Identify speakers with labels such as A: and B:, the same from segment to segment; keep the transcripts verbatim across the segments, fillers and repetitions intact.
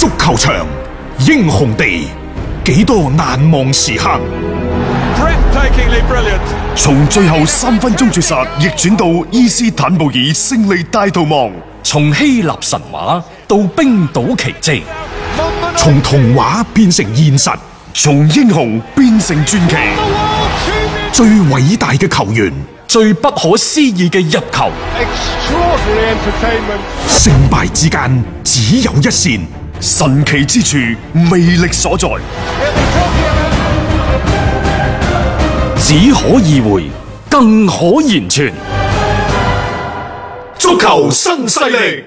A: 足球場，英雄地，幾多難忘時刻。
B: 從最後三分鐘絕殺逆轉到伊斯坦布爾勝利大逃亡，
C: 從希臘神話到冰島奇蹟，
A: 從童話變成現實，
B: 從英雄變成傳奇。
A: 最偉大嘅球員，
C: 最不可思議嘅入球，
A: 勝敗之間只有一線，
B: 神奇之處魅力所在，
C: 只可意會，更可言傳。
A: 足球新勢力。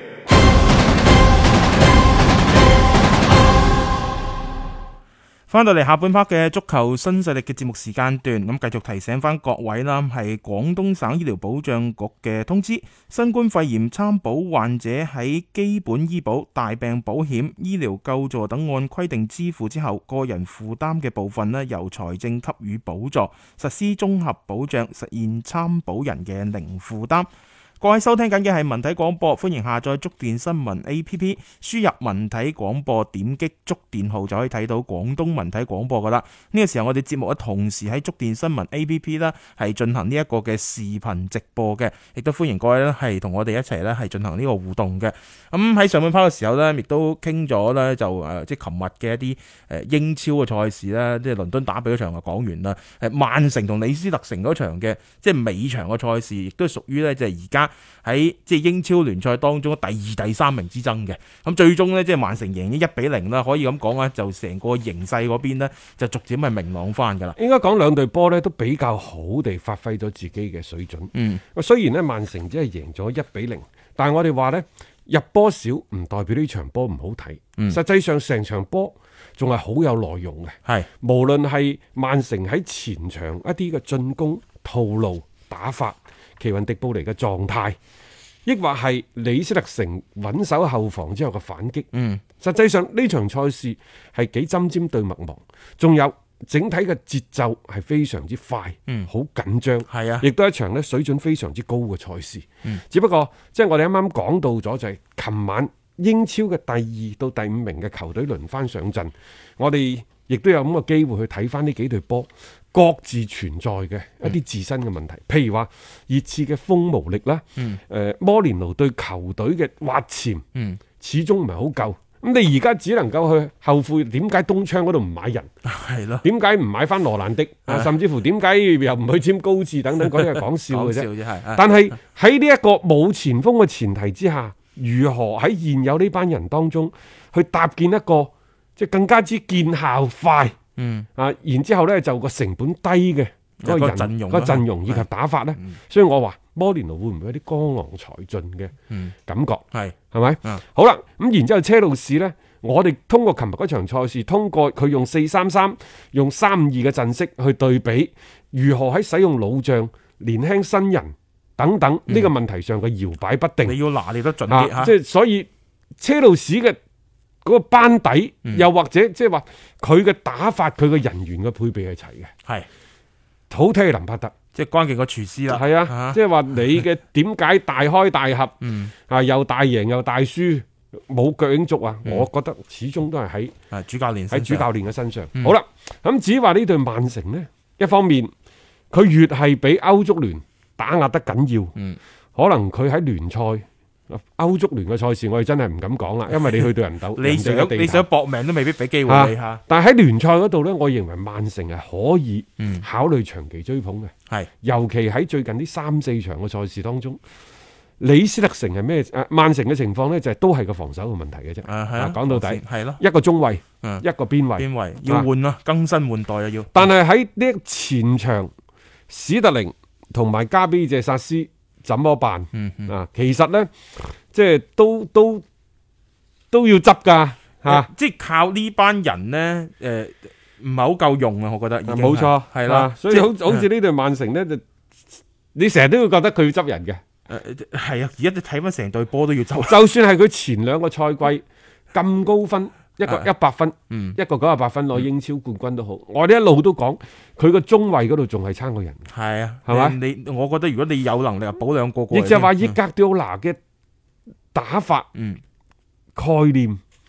D: 翻到嚟下半 part 嘅足球新勢力嘅節目時間段，咁繼續提醒翻各位啦，係廣東省醫療保障局嘅通知，新冠肺炎參保患者喺基本醫保、大病保險、醫療救助等按規定支付之後，個人負擔嘅部分呢，由財政給予補助，實施綜合保障，實現參保人嘅零負擔。各位收聽緊嘅係文體廣播，歡迎下載觸電新聞 A P P， 輸入文體廣播，點擊觸電號就可以睇到廣東文體廣播噶啦。呢個時候我哋節目嘅同時喺觸電新聞 A P P 啦，係進行呢一個嘅視頻直播嘅，亦都歡迎各位咧係同我哋一齊咧係進行呢個互動嘅。咁喺上半 part 嘅時候咧，亦都傾咗咧就誒即係琴日嘅一啲誒英超嘅賽事啦，即係倫敦打比嗰場就講完啦。誒曼城同李斯特城嗰場嘅即係尾場嘅賽事，亦都屬於咧就係而家喺即係英超聯賽當中第二、第三名之爭嘅，咁最終呢，即係曼城贏咗一比零啦，可以咁講啊，就成個形勢嗰邊呢，就逐漸係明朗翻噶啦。
E: 應該講兩隊波呢都比較好地發揮咗自己嘅水準。嗯，雖然呢曼城只係贏咗一比零，但係我哋話呢入波少唔代表呢場波唔好睇。嗯，實際上成場波仲係好有內容嘅。係，無論係曼城喺前場一啲嘅進攻套路打法，奇雲迪布尼嘅狀態，抑或係李斯特城穩守後防之後嘅反擊。嗯，實際上呢場賽事係幾針尖對麥芒，仲有整體嘅節奏係非常之快，嗯，好緊張，係啊，亦都係一場咧水準非常之高嘅賽事。嗯，只不過即係我哋啱啱講到咗就係琴晚英超嘅第二到第五名嘅球隊輪番上陣，我哋亦都有咁嘅機會去睇翻呢幾隊波各自存在嘅一啲自身嘅問題，嗯、譬如話熱刺嘅鋒無力啦，誒、嗯呃、摩連奴對球隊嘅挖潛，嗯、始終唔係好夠。咁你而家只能夠去後悔點解東窗嗰度唔買人，係咯？點解唔買翻羅蘭迪？啊、甚至乎點解又唔去簽高治等等，嗰啲係講笑嘅啫。但係喺呢一個冇前鋒嘅前提之下，如何喺現有呢班人當中去搭建一個即係更加之見效快？嗯啊，然之後咧就個成本低嘅嗰個人陣容、個陣容以及打法咧，嗯、所以我話摩連奴會唔會有啲江郎才盡嘅感覺？係係咪？嗯、好啦，咁然之後車路士咧，我哋通過琴日嗰場賽事，通過佢用四三三、用三五二嘅陣式去對比，如何喺使用老將、年輕新人等等呢、嗯、個問題上嘅搖擺不定，你要拿捏得準啲吓。即係所以車路士嘅嗰個班底，嗯、又或者即係話佢嘅打法，佢嘅人員嘅配備係齊嘅，係好睇係林柏特，即係關鍵個廚師啦。係啊，啊即係話你嘅點解大開大合，嗯、啊又大贏又大輸，冇腳影足啊！嗯、我覺得始終都係喺主教練喺主教練嘅身上。嗯、好啦，咁至於話呢隊曼城呢，一方面佢越係俾歐足聯打壓得緊要，嗯、可能佢喺聯賽。歐足聯嘅賽事我哋真係唔敢講啦，因為你去到人鬥，你想你想搏命都未必俾機會你吓。啊、但係喺聯賽嗰度呢，我認為曼城係可以考慮長期追捧嘅。係、嗯，尤其喺最近呢三四場嘅賽事當中，李斯特城係咩？誒，曼城嘅情況呢，就係都係個防守嘅問題嘅啫。啊，係啊，講到底係咯，一個中衛，嗯、一個邊衛，邊衛要換咯，啊、更新換代啊要。但係喺呢前場，史特靈同埋加比謝薩斯。怎麼辦？嗯嗯、啊，其實咧，即係都都都要執噶吓，即係靠呢班人咧，誒、呃，唔係好夠用啊，我覺得。冇錯，係啦，所以好好似呢隊曼城咧，就你成日都會覺得佢要執人嘅。誒、呃，係啊，而家你睇翻成隊波都要執，就算係佢前兩個賽季咁高分。一個一百分，嗯、一個九十八分攞英超冠軍都好，嗯、我哋一路都講佢個中衛嗰度仲係差過人。係啊，係嘛？你我覺得如果你有能力啊，補兩個過。亦就係話伊格迪奧拿嘅打法、嗯、概念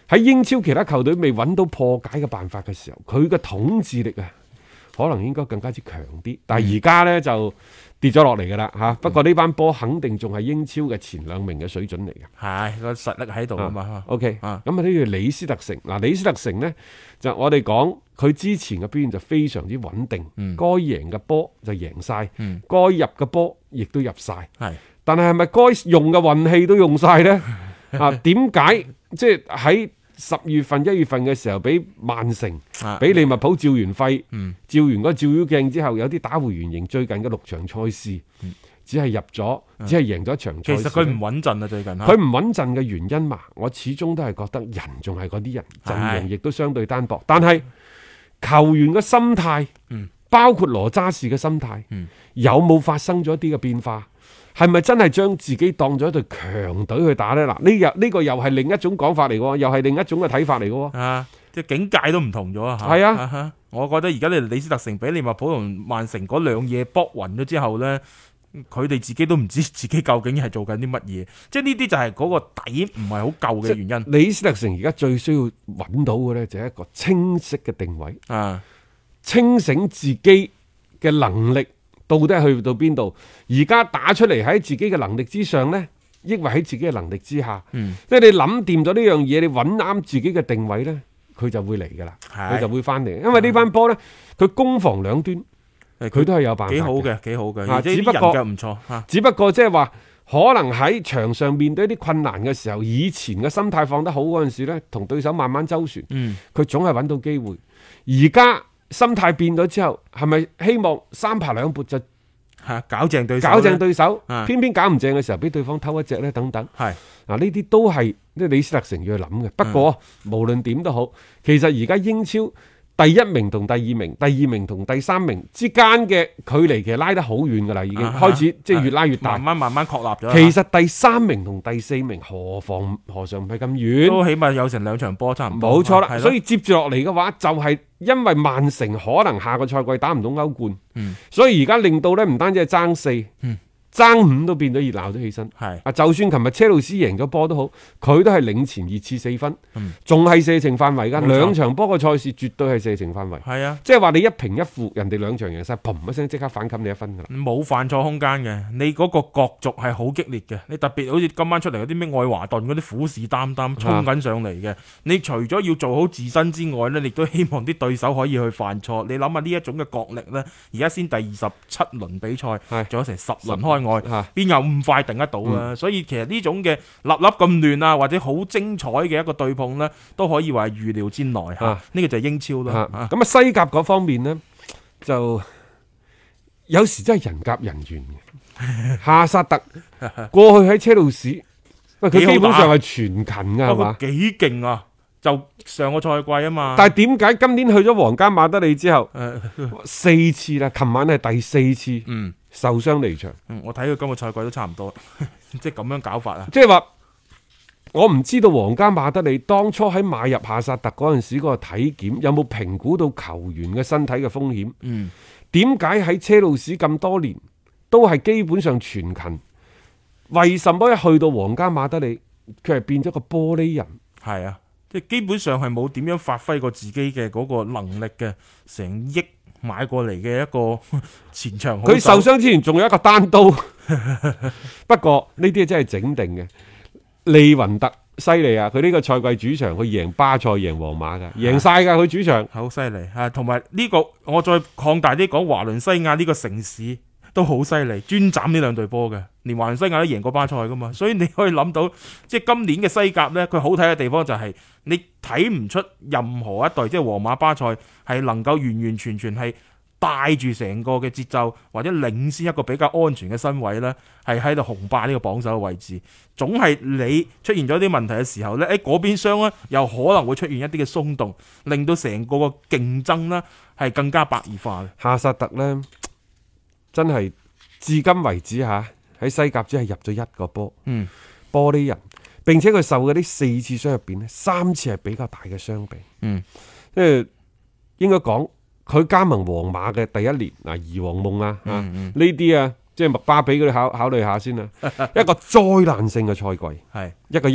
E: 喺英超其他球隊未揾到破解嘅辦法嘅時候，佢嘅統治力啊，可能應該更加之強啲。但係而家呢，就跌咗落嚟噶啦嚇。不過呢班波肯定仲係英超嘅前兩名嘅水準嚟嘅。
D: 係個實力喺度啊嘛。
E: OK，咁
D: 啊
E: 啊呢個李斯特城嗱，李斯特城呢，就我哋講佢之前嘅表現就非常之穩定，
D: 嗯、該
E: 贏嘅波就贏晒，
D: 嗯、
E: 該入嘅波亦都入晒。
D: 係，
E: 但係係咪該用嘅運氣都用晒呢？啊，點解即係喺十月份、一月份嘅時候，俾曼城、俾利物浦照完肺，
D: 嗯、
E: 照完個照妖鏡之後，有啲打回原形。最近嘅六場賽事，嗯、只係入咗，嗯、只係贏咗一場賽事。
D: 其實佢唔穩陣啊，最近
E: 佢唔穩陣嘅原因嘛，我始終都係覺得人仲係嗰啲人，陣容亦都相對單薄。但係球員嘅心態，
D: 嗯、
E: 包括羅渣士嘅心態，
D: 嗯、
E: 有冇發生咗一啲嘅變化？係咪真係將自己當咗一隊強隊去打呢？嗱，呢日呢個又係另一種講法嚟嘅，又係另一種嘅睇法嚟嘅。
D: 啊，即係境界都唔同咗啊！
E: 係啊，
D: 啊，我覺得而家你李斯特城俾利物浦同曼城嗰兩嘢搏暈咗之後呢，佢哋自己都唔知自己究竟係做緊啲乜嘢。即係呢啲就係嗰個底唔係好夠嘅原因。
E: 李斯特城而家最需要揾到嘅呢，就係一個清晰嘅定位，
D: 啊，
E: 清醒自己嘅能力。到底係去到邊度？而家打出嚟喺自己嘅能力之上呢，抑或喺自己嘅能力之下？嗯，即係你諗掂咗呢樣嘢，你揾啱自己嘅定位呢，佢就會嚟噶啦，佢就會翻嚟。因為呢班波呢，佢攻防兩端，佢都係有辦法。幾好嘅，
D: 幾好嘅。
E: 啊，只不過唔錯。只不過即係話，可能喺場上面對一啲困難嘅時候，以前嘅心態放得好嗰陣時呢，同對手慢慢周旋，嗯，佢總係揾到機會。而家心態變咗之後，係咪希望三爬兩撥就
D: 吓搞正對手？
E: 搞正對手，
D: 啊、
E: 偏偏搞唔正嘅時候，俾對方偷一隻咧，等等。
D: 係
E: 嗱，呢啲都係即係李斯特城要去諗嘅。不過、嗯、無論點都好，其實而家英超第一名同第二名、第二名同第三名之間嘅距離其實拉得好遠噶啦，已經開始即係越拉越大，
D: 慢慢慢慢確立咗。
E: 其實第三名同第四名何妨何嘗唔係咁遠？
D: 都起碼有成兩場波差唔多。
E: 冇錯啦，所以接住落嚟嘅話，就係因為曼城可能下個賽季打唔到歐冠，嗯、所以而家令到咧唔單止係爭四。嗯爭五都變咗熱鬧咗起身，係啊！就算琴日車路士贏咗波都好，佢都係領前熱刺四分，仲係射程範圍噶。兩場波嘅賽事絕對係射程範圍，係啊！即係話你一平一負，人哋兩場贏晒，砰一聲即刻反冚你一分噶啦，
D: 冇犯錯空間嘅。你嗰個角逐係好激烈嘅，你特別好似今晚出嚟嗰啲咩愛華頓嗰啲虎視眈眈衝緊上嚟嘅，你除咗要做好自身之外呢，你都希望啲對手可以去犯錯。你諗下呢一種嘅角力呢，而家先第二十七輪比賽，仲有成十輪開外，邊有咁快定得到啊？嗯、所以其實呢種嘅粒粒咁亂啊，或者好精彩嘅一個對碰呢，都可以話係預料之內吓。呢、啊、個就係英超啦。咁啊，啊
E: 西甲嗰方面呢，就有時真係人夾人緣嘅。夏薩特過去喺車路士，喂，佢基本上係全勤噶係嘛？
D: 幾勁啊！就上個賽季啊嘛。
E: 但係點解今年去咗皇家馬德里之後，四次啦？琴晚係第四次。嗯。受傷離場，
D: 嗯，我睇佢今個賽季都差唔多，即係咁樣搞法啊！
E: 即係話，我唔知道皇家馬德里當初喺買入夏薩特嗰陣時，嗰個體檢有冇評估到球員嘅身體嘅風險？嗯，點解喺車路士咁多年都係基本上全勤？為什麼一去到皇家馬德里，佢係變咗個玻璃人？
D: 係啊，即係基本上係冇點樣發揮過自己嘅嗰個能力嘅，成億買過嚟嘅一個前場好手，
E: 佢受傷之前仲有一個單刀，不過呢啲真係整定嘅。利雲特犀利啊！佢呢個賽季主場佢贏巴塞贏皇馬噶，贏晒噶佢主場，
D: 好犀利啊！同埋呢個我再擴大啲講，華倫西亞呢個城市都好犀利，專斬呢兩隊波嘅，連華倫西亞都贏過巴塞噶嘛，所以你可以諗到，即係今年嘅西甲呢，佢好睇嘅地方就係你睇唔出任何一隊，即係皇馬、巴塞係能夠完完全全係帶住成個嘅節奏，或者領先一個比較安全嘅身位呢，係喺度雄霸呢個榜首嘅位置。總係你出現咗啲問題嘅時候呢，誒嗰邊廂呢又可能會出現一啲嘅鬆動，令到成個個競爭呢係更加白熱化嘅。
E: 夏薩特呢，真係至今為止吓喺西甲只係入咗一個波，嗯，玻璃人，並且佢受嘅呢四次傷入邊呢，三次係比較大嘅傷病，嗯，即係應該講。佢加盟皇馬嘅第一年嗱，二王夢啊，呢啲、嗯嗯、啊，即係麥巴比嗰啲考考慮下先啦。一個災難性嘅賽季，係一個億，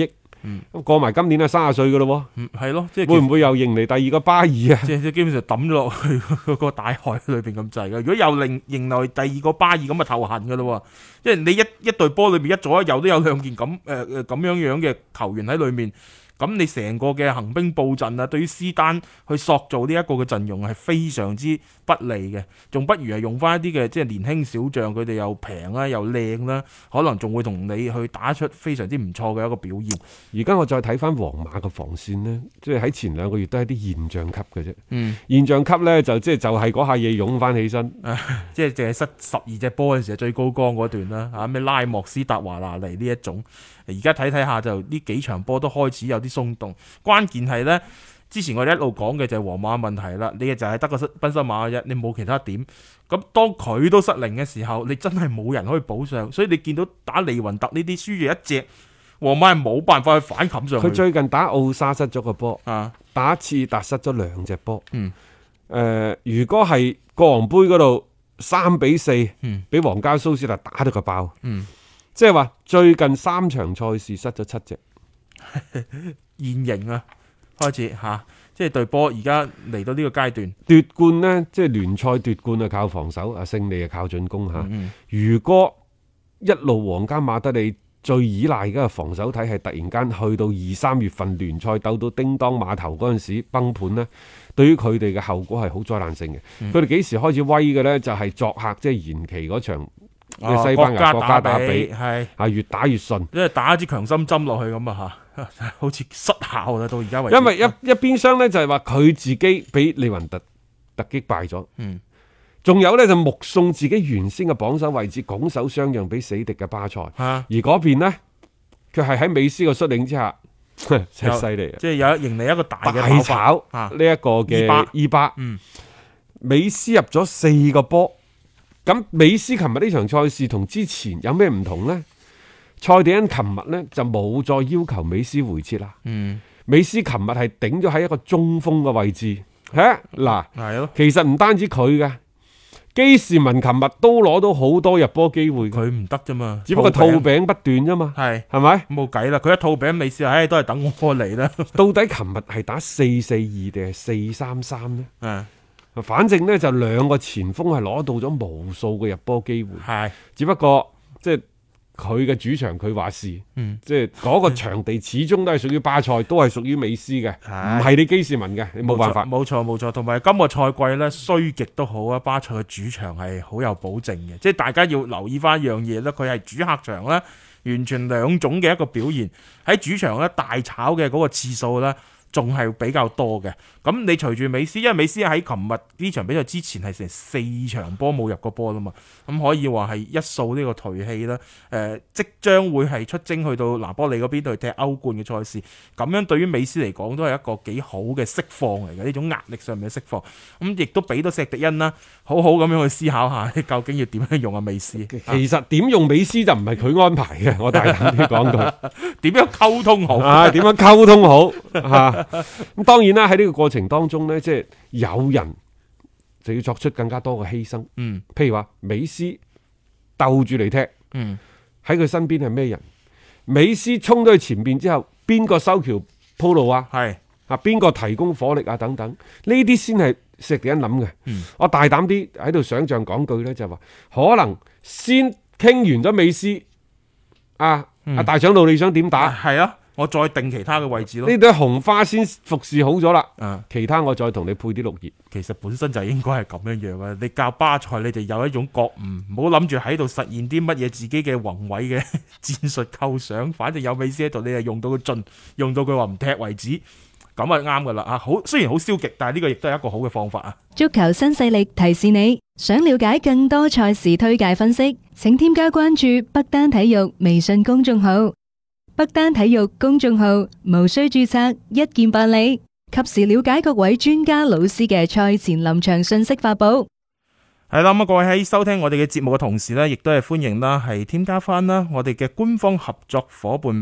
E: 嗯，過埋今年啊三十歲噶咯，
D: 嗯，係咯，即係
E: 會唔會又迎嚟第二個巴爾啊？
D: 即係基本上抌咗落去嗰個大海裏邊咁滯嘅。如果又另迎來第二個巴爾咁啊頭痕噶咯，即係你一一隊波裏邊一左一右都有兩件咁誒誒咁樣樣嘅球員喺裏面。咁你成個嘅行兵布陣啊，對於斯丹去塑造呢一個嘅陣容係非常之不利嘅，仲不如係用翻一啲嘅即係年輕小將，佢哋又平啦又靚啦，可能仲會同你去打出非常之唔錯嘅一個表現。
E: 而家我再睇翻皇馬嘅防線呢，即係喺前兩個月都係啲現象級嘅啫。
D: 嗯，
E: 現象級呢，就即係就係嗰下嘢湧翻起身，
D: 啊、即係淨係失十二隻波嘅時候最高光嗰段啦，嚇咩拉莫斯達華拿尼呢一種。而家睇睇下就呢幾場波都開始有啲鬆動，關鍵係呢，之前我哋一路講嘅就係皇馬問題啦，你就係得個賓施馬嘅啫，你冇其他點。咁當佢都失靈嘅時候，你真係冇人可以補上，所以你見到打利雲特呢啲輸住一隻，皇馬係冇辦法去反冚上去。
E: 佢最近打奧沙失咗個波，
D: 啊，
E: 打次達失咗兩隻波。
D: 嗯，誒、
E: 呃，如果係國王杯嗰度三比四，嗯，俾皇家蘇斯達打到個爆，
D: 嗯。
E: 即係話最近三場賽事失咗七隻，
D: 現形啊，開始吓、啊，即係隊波而家嚟到呢個階段
E: 奪冠呢，即係聯賽奪冠啊靠防守，啊勝利啊靠進攻吓。嗯嗯，如果一路皇家馬德里最依賴嘅防守體系突然間去到二三月份聯賽鬥到叮當碼頭嗰陣時崩盤呢，對於佢哋嘅後果係好災難性嘅。佢哋幾時開始威嘅呢？就係、是、作客即係延期嗰場。
D: 哦、
E: 西班牙國家打比
D: 係
E: 啊，越打越順，
D: 因為打一支強心針落去咁啊吓，好似失效啦到而家為止。
E: 因為一一邊廂咧就係話佢自己俾利雲特突擊敗咗，嗯，仲有咧就目送自己原先嘅榜首位置拱手相讓俾死敵嘅巴塞，
D: 啊、
E: 而嗰邊呢，佢係喺美斯嘅率領之下，真係犀利啊！
D: 即係有迎嚟一個大嘅
E: 大炒呢一個嘅伊巴，
D: 嗯，
E: 美斯入咗四個波。咁美斯琴日呢場賽事同之前有咩唔同呢？蔡迪恩琴日呢就冇再要求美斯回撤啦。嗯，美斯琴日係頂咗喺一個中鋒嘅位置。吓嗱，係咯，其實唔單止佢嘅，基士文琴日都攞到好多入波機會，
D: 佢唔得啫嘛，
E: 只不過套餅不斷啫嘛。係係咪？
D: 冇計啦，佢一套餅美斯，唉，都係等我嚟啦。
E: 到底琴日係打四四二定係四三三呢？
D: 嗯。
E: 反正呢，就兩個前鋒係攞到咗無數嘅入波機會，係只不過即係佢嘅主場佢話事，嗯，即係嗰個場地始終都係屬於巴塞，都係屬於美斯嘅，唔係你基士文嘅，你冇辦法。
D: 冇錯冇錯，同埋今個賽季呢，衰極都好啊，巴塞嘅主場係好有保證嘅，即係大家要留意翻一樣嘢咧，佢係主客場呢，完全兩種嘅一個表現，喺主場呢，大炒嘅嗰個次數呢，仲係比較多嘅，咁你隨住美斯，因為美斯喺琴日呢場比賽之前係成四場波冇入過波啦嘛，咁可以話係一掃呢個頹氣啦。誒、呃，即將會係出征去到拿波利嗰邊去踢歐冠嘅賽事，咁樣對於美斯嚟講都係一個幾好嘅釋放嚟嘅，呢種壓力上面嘅釋放，咁亦都俾到石迪恩啦，好好咁樣去思考下，究竟要點樣用阿美斯。
E: 其實點用美斯就唔係佢安排嘅，我大膽啲講句，
D: 點樣溝通好
E: 啊？點樣溝通好嚇？咁當然啦，喺呢個過程當中呢，即係有人就要作出更加多嘅犧牲。嗯，譬如話美斯鬥住嚟踢，嗯，喺佢身邊係咩人？美斯衝咗去前邊之後，邊個修橋鋪路啊？係啊，邊個提供火力啊？等等，呢啲先係石地人諗嘅。嗯，我大膽啲喺度想象講句呢，就係話可能先傾完咗美斯，啊，阿、嗯、大長老你想點打？
D: 係啊。我再定其他嘅位置咯，
E: 呢朵紅花先服侍好咗啦，嗯，其他我再同你配啲綠葉。
D: 其實本身就應該係咁樣樣嘅。你教巴塞，你就有一種覺悟，唔好諗住喺度實現啲乜嘢自己嘅宏偉嘅戰術構想。反正有美斯喺度，你就用到佢盡，用到佢話唔踢為止，咁啊啱噶啦啊！好，雖然好消極，但係呢個亦都係一個好嘅方法啊。
F: 足球新勢力提示你，想了解更多賽事推介分析，請添加關注北單體育微信公眾號。北單體育公眾號無需註冊，一鍵辦理，及時了解各位專家老師嘅賽前臨場信息發布。
D: 係啦，咁啊，各位喺收聽我哋嘅節目嘅同時呢，亦都係歡迎啦，係添加翻啦我哋嘅官方合作夥伴北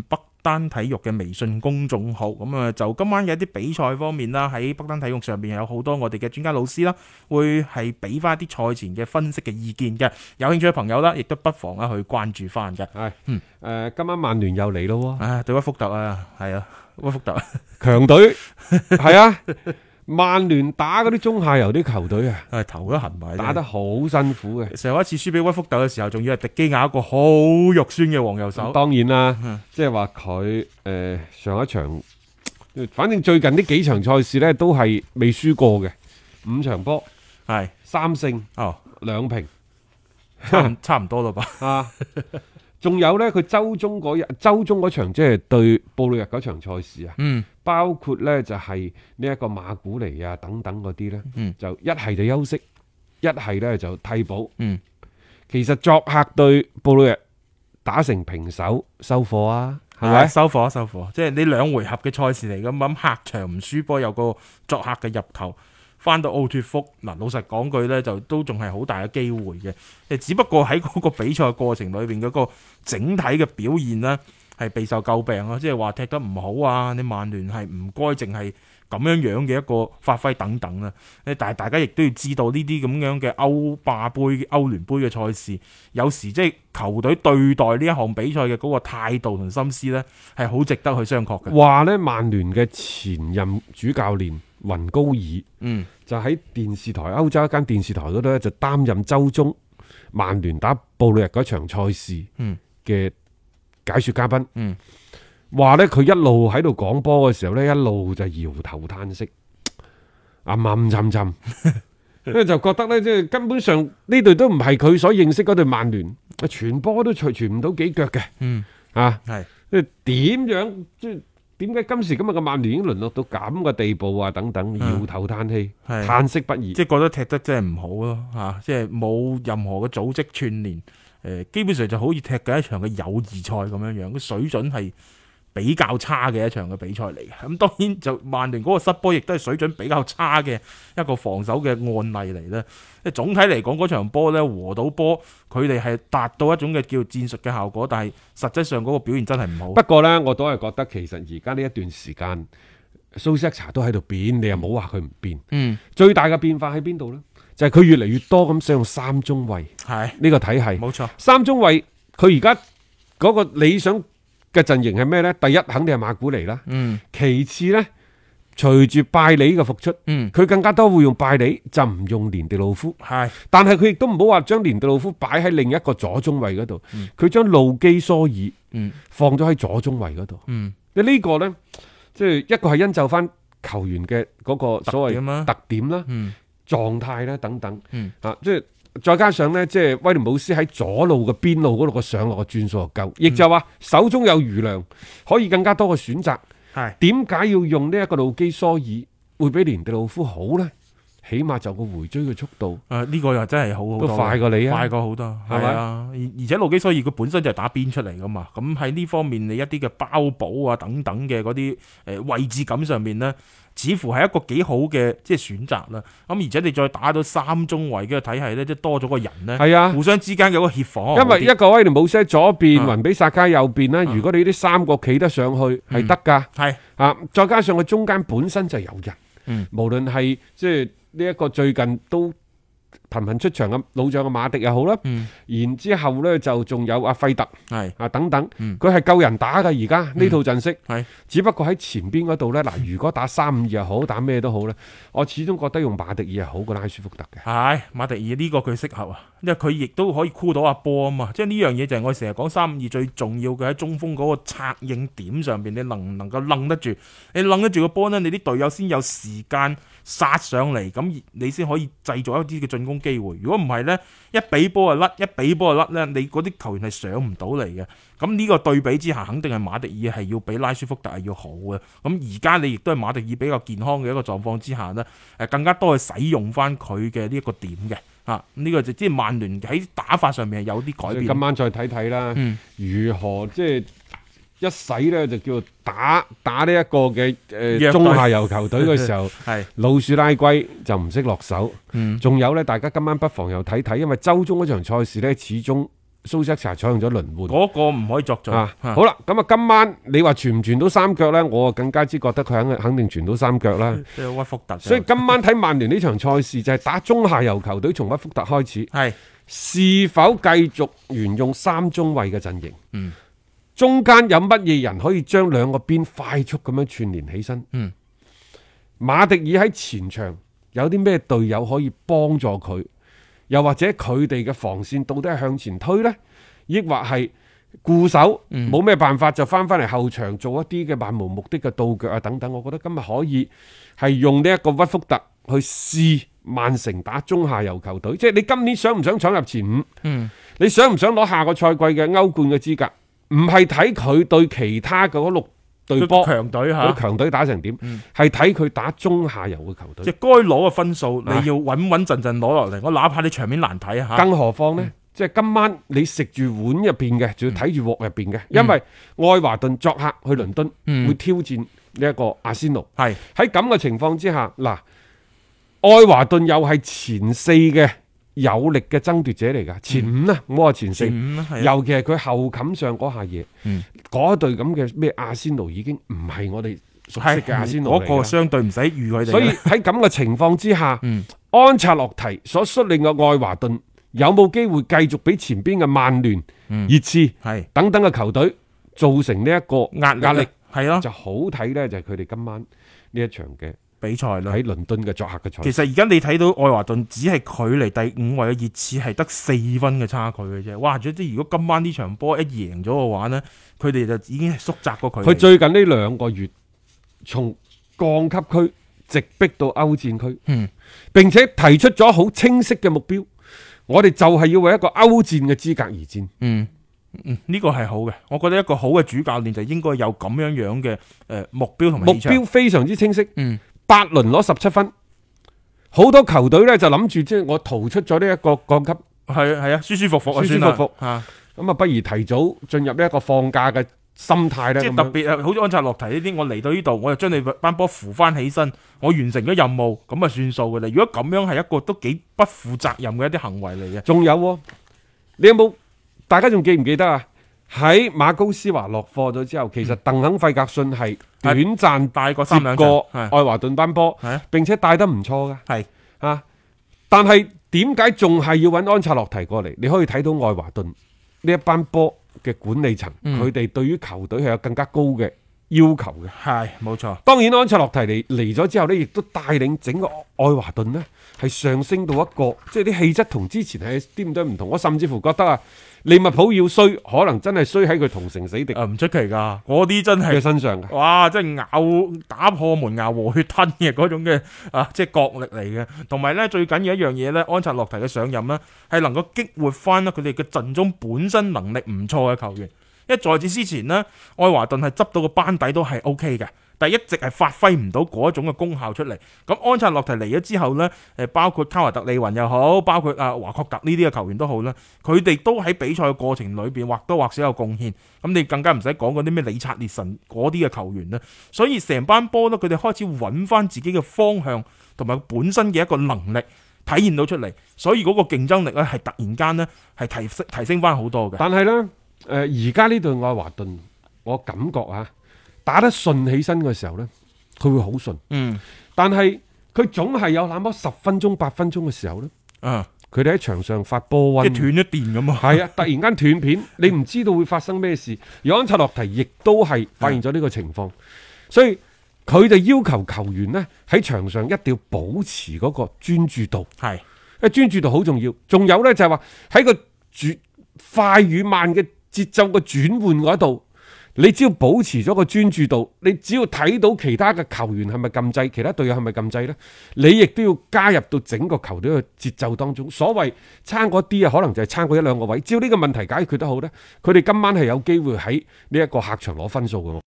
D: 丹體育嘅微信公眾號。咁啊，就今晚嘅一啲比賽方面啦，喺北丹體育上邊有好多我哋嘅專家老師啦，會係俾翻一啲賽前嘅分析嘅意見嘅。有興趣嘅朋友啦，亦都不妨啊去關注翻嘅。
E: 係，嗯，誒、呃，今晚曼聯又嚟咯喎，
D: 啊，對屈福特啊，係啊，屈福特
E: 強隊，係啊。曼聯打嗰啲中下游啲球隊啊，
D: 係頭都痕埋，
E: 打得好辛苦嘅。
D: 上一次輸俾屈福特嘅時候，仲要係迪基亞一個好肉酸嘅黃右手。
E: 當然啦，即係話佢誒上一場，反正最近呢幾場賽事呢都係未輸過嘅，五場波
D: 係三勝哦，兩平，差差唔多啦吧？啊！
E: 仲有呢，佢周中嗰日，周中嗰場即係對布魯日嗰場賽事啊，嗯，包括呢就係呢一個馬古尼啊等等嗰啲呢，嗯，就一係就休息，一係呢就替補，嗯，其實作客對布魯日打成平手收貨啊，係咪？
D: 收貨收貨，即係你兩回合嘅賽事嚟咁，咁客場唔輸波，有個作客嘅入球。翻到奧脫福嗱，老實講句呢，就都仲係好大嘅機會嘅。誒，只不過喺嗰個比賽過程裏邊嗰個整體嘅表現呢，係備受詬病咯。即係話踢得唔好啊，你曼聯係唔該淨係咁樣樣嘅一個發揮等等啦。誒，但係大家亦都要知道呢啲咁樣嘅歐霸杯、歐聯杯嘅賽事，有時即係球隊對待呢一項比賽嘅嗰個態度同心思呢，係好值得去商榷嘅。
E: 話呢，曼聯嘅前任主教練雲高爾，嗯，就喺電視台歐洲一間電視台嗰度咧，就擔任周中曼聯打布魯日嗰場賽事嘅解說嘉賓，嗯，話咧佢一路喺度講波嘅時候咧，一路就搖頭嘆息，暗暗沉沉，因為就覺得咧，即係根本上呢隊都唔係佢所認識嗰隊曼聯，傳波都傳傳唔到幾腳嘅，嗯，啊，係，即係點樣即係。點解今時今日嘅曼聯已經淪落到咁嘅地步啊？等等，搖頭嘆氣，嘆息不已，
D: 即係覺得踢得真係唔好咯，吓、啊，即係冇任何嘅組織串聯，誒、呃，基本上就好似踢緊一場嘅友誼賽咁樣樣，個水準係比較差嘅一場嘅比賽嚟嘅。咁當然就曼聯嗰個失波，亦都係水準比較差嘅一個防守嘅案例嚟咧。即係總體嚟講，嗰場波咧和到波，佢哋係達到一種嘅叫戰術嘅效果，但係實際上嗰個表現真係唔好。
E: 不過呢，我都係覺得其實而家呢一段時間，蘇斯克查都喺度變，你又冇話佢唔變。嗯，最大嘅變化喺邊度呢？就係、是、佢越嚟越多咁使用三中衛，係呢個體系。冇錯，三中衛佢而家嗰個理想嘅陣營係咩呢？第一肯定係馬古尼啦，嗯，其次呢，隨住拜里嘅復出，嗯，佢更加多會用拜里，就唔用連地路夫，係，但係佢亦都唔好話將連地路夫擺喺另一個左中衛嗰度，佢將路基蘇爾，嗯，放咗喺左中衛嗰度，嗯，你呢個呢，即係一個係因就翻球員嘅嗰個所謂特點啦，嗯，狀態啦等等，嗯，啊，即係。再加上呢，即係威廉姆斯喺左路嘅邊路嗰度個上落嘅轉數又夠，亦就話手中有餘糧，可以更加多嘅選擇。係點解要用呢一個路基蘇爾會比連地路夫好呢？起碼就個回追嘅速度，誒、啊、呢、這個又真係好好多，都快過你啊，快過好多，係咪啊？而而且路基蘇爾佢本身就係打邊出嚟噶嘛，咁喺呢方面你一啲嘅包補啊等等嘅嗰啲誒位置感上面呢，似乎係一個幾好嘅即係選擇啦。咁而且你再打到三中衛嘅體系呢，即係多咗個人呢，係啊，互相之間有個協防。因為一個威廉姆斯喺左邊，雲、啊、比薩加右邊啦、啊。如果你呢啲三個企得上去係得噶，係、嗯、啊，再加上佢中間本身就有人，嗯，無論係即係。呢、這、一個最近都頻頻出場嘅老將嘅馬迪又好啦、嗯，然之後咧就仲有阿費特係啊等等，佢係夠人打嘅而家呢套陣式，係只不過喺前邊嗰度咧嗱，如果打三五二又好，打咩都好咧，我始終覺得用馬迪爾係好過拉舒福特嘅。係馬迪爾呢個佢適合啊，因為佢亦都可以箍到阿波啊嘛，即係呢樣嘢就係我成日講三五二最重要嘅喺中鋒嗰個策應點上邊，你能唔能夠掹得住？你掹得住個波呢，你啲隊友先有時間殺上嚟，咁你先可以製造一啲嘅進攻機會。如果唔係呢，一俾波就甩，一俾波就甩呢，你嗰啲球員係上唔到嚟嘅。咁呢個對比之下，肯定係馬迪爾係要比拉舒福特係要好嘅。咁而家你亦都係馬迪爾比較健康嘅一個狀況之下呢，誒更加多去使用翻佢嘅呢一個點嘅。啊，呢、這個就即係曼聯喺打法上面係有啲改變。今晚再睇睇啦，如何即係一洗咧就叫打打呢一個嘅誒中下游球隊嘅時候，係老鼠拉龜就唔識落手。仲、嗯、有咧，大家今晚不妨又睇睇，因為周中嗰場賽事咧，始終蘇斯查採用咗輪換，
D: 嗰個唔可以作準。
E: 啊啊、好啦，咁啊今晚你話傳唔傳到三腳呢？我更加之覺得佢肯肯定傳到三腳啦。
D: 即係屈福特。
E: 所以今晚睇曼聯呢場賽事就係打中下游球隊，從屈福特開始，
D: 係
E: 是否繼續沿用三中衛嘅陣型？
D: 嗯，
E: 中間有乜嘢人可以將兩個邊快速咁樣串聯起身？
D: 嗯，
E: 馬迪爾喺前場有啲咩隊友可以幫助佢？又或者佢哋嘅防線到底係向前推呢？抑或係固守？冇咩、嗯、辦法就翻翻嚟後場做一啲嘅漫無目的嘅倒腳啊等等。我覺得今日可以係用呢一個屈福特去試曼城打中下游球隊。即係你今年想唔想闖入前五？嗯，你想唔想攞下個賽季嘅歐冠嘅資格？唔係睇佢對其他嗰六隊波
D: 強隊吓，
E: 強隊打成點？係睇佢打中下游嘅球隊。
D: 即係該攞嘅分數，你要穩穩陣陣攞落嚟。我哪怕你場面難睇吓，
E: 更何況呢？嗯、即係今晚你食住碗入邊嘅，仲要睇住鑊入邊嘅，嗯、因為愛華頓作客去倫敦，嗯、會挑戰呢一個阿仙奴。係喺咁嘅情況之下，嗱，愛華頓又係前四嘅有力嘅爭奪者嚟噶，前五啊，唔好話前四，前尤其係佢後冚上嗰下嘢，嗰隊咁嘅咩阿仙奴已經唔係我哋熟悉嘅阿仙奴嚟嘅，
D: 嗰個相對唔使預佢哋。
E: 所以喺咁嘅情況之下，嗯、安察洛提所率領嘅愛華頓有冇機會繼續俾前邊嘅曼聯、嗯、熱刺等等嘅球隊造成呢一個壓壓力？係咯，就好睇呢，就係佢哋今晚呢一場嘅比賽啦，喺倫敦嘅作客嘅賽。
D: 其實而家你睇到愛華頓只係距離第五位嘅熱刺係得四分嘅差距嘅啫。哇！即係如果今晚呢場波一贏咗嘅話呢，佢哋就已經係縮窄過佢。
E: 佢最近呢兩個月從降級區直逼到歐戰區，嗯，並且提出咗好清晰嘅目標，我哋就係要為一個歐戰嘅資格而戰。
D: 嗯。嗯，呢個係好嘅，我覺得一個好嘅主教練就應該有咁樣樣嘅誒目標同埋
E: 目標非常之清晰。嗯，八輪攞十七分，好多球隊咧就諗住即係我逃出咗呢一個降級，
D: 係係啊，舒舒服服啊，
E: 舒舒服服啊，咁啊不如提早進入呢一個放假嘅心態咧。
D: 即係特別係好似安察洛提呢啲，我嚟到呢度，我就將你班波扶翻起身，我完成咗任務，咁啊算數嘅啦。如果咁樣係一個都幾不負責任嘅一啲行為嚟嘅。
E: 仲有，你有冇？大家仲記唔記得啊？喺馬高斯華落課咗之後，其實鄧肯費格遜係短暫
D: 帶過三兩
E: 個愛華頓班波，並且帶得唔錯噶。係啊，但係點解仲係要揾安察洛提過嚟？你可以睇到愛華頓呢一班波嘅管理層，佢哋、嗯、對於球隊係有更加高嘅要求嘅。係冇錯。當然安察洛提嚟嚟咗之後呢，亦都帶領整個愛華頓呢係上升到一個，即係啲氣質同之前係啲咁多唔同。我甚至乎覺得啊，利物浦要衰，可能真係衰喺佢同城死敵。啊，唔出奇噶，嗰啲真係佢身上嘅。哇，即係咬打破門牙和血吞嘅嗰種嘅啊，即係角力嚟嘅。同埋咧，最緊要一樣嘢咧，安察洛提嘅上任咧，係能夠激活翻啦佢哋嘅陣中本身能力唔錯嘅球員。因為在此之前呢，愛華頓係執到個班底都係 O K 嘅。但係一直係發揮唔到嗰種嘅功效出嚟。咁安察洛提嚟咗之後呢，誒包括卡華特利雲又好，包括阿華確特呢啲嘅球員都好啦，佢哋都喺比賽嘅過程裏邊或多或少有貢獻。咁你更加唔使講嗰啲咩理察列神嗰啲嘅球員啦。所以成班波呢，佢哋開始揾翻自己嘅方向同埋本身嘅一個能力體現到出嚟。所以嗰個競爭力咧係突然間呢係提升提升翻好多嘅。但係呢，誒而家呢隊愛華頓，我感覺啊。打得順起身嘅時候呢，佢會好順。嗯，但係佢總係有那麼十分鐘、八分鐘嘅時候呢，啊，佢哋喺場上發波瘟，即係斷咗電咁啊！係啊，突然間斷片，你唔知道會發生咩事。而安察洛提亦都係發現咗呢個情況，所以佢就要求球員呢喺場上一定要保持嗰個專注度。係，因為專注度好重要。仲有呢，就係話喺個轉快與慢嘅節奏嘅轉換嗰度。你只要保持咗個專注度，你只要睇到其他嘅球員係咪禁制，其他隊友係咪禁制呢？你亦都要加入到整個球隊嘅節奏當中。所謂差嗰啲啊，可能就係差過一兩個位。只要呢個問題解決得好呢，佢哋今晚係有機會喺呢一個客場攞分數嘅。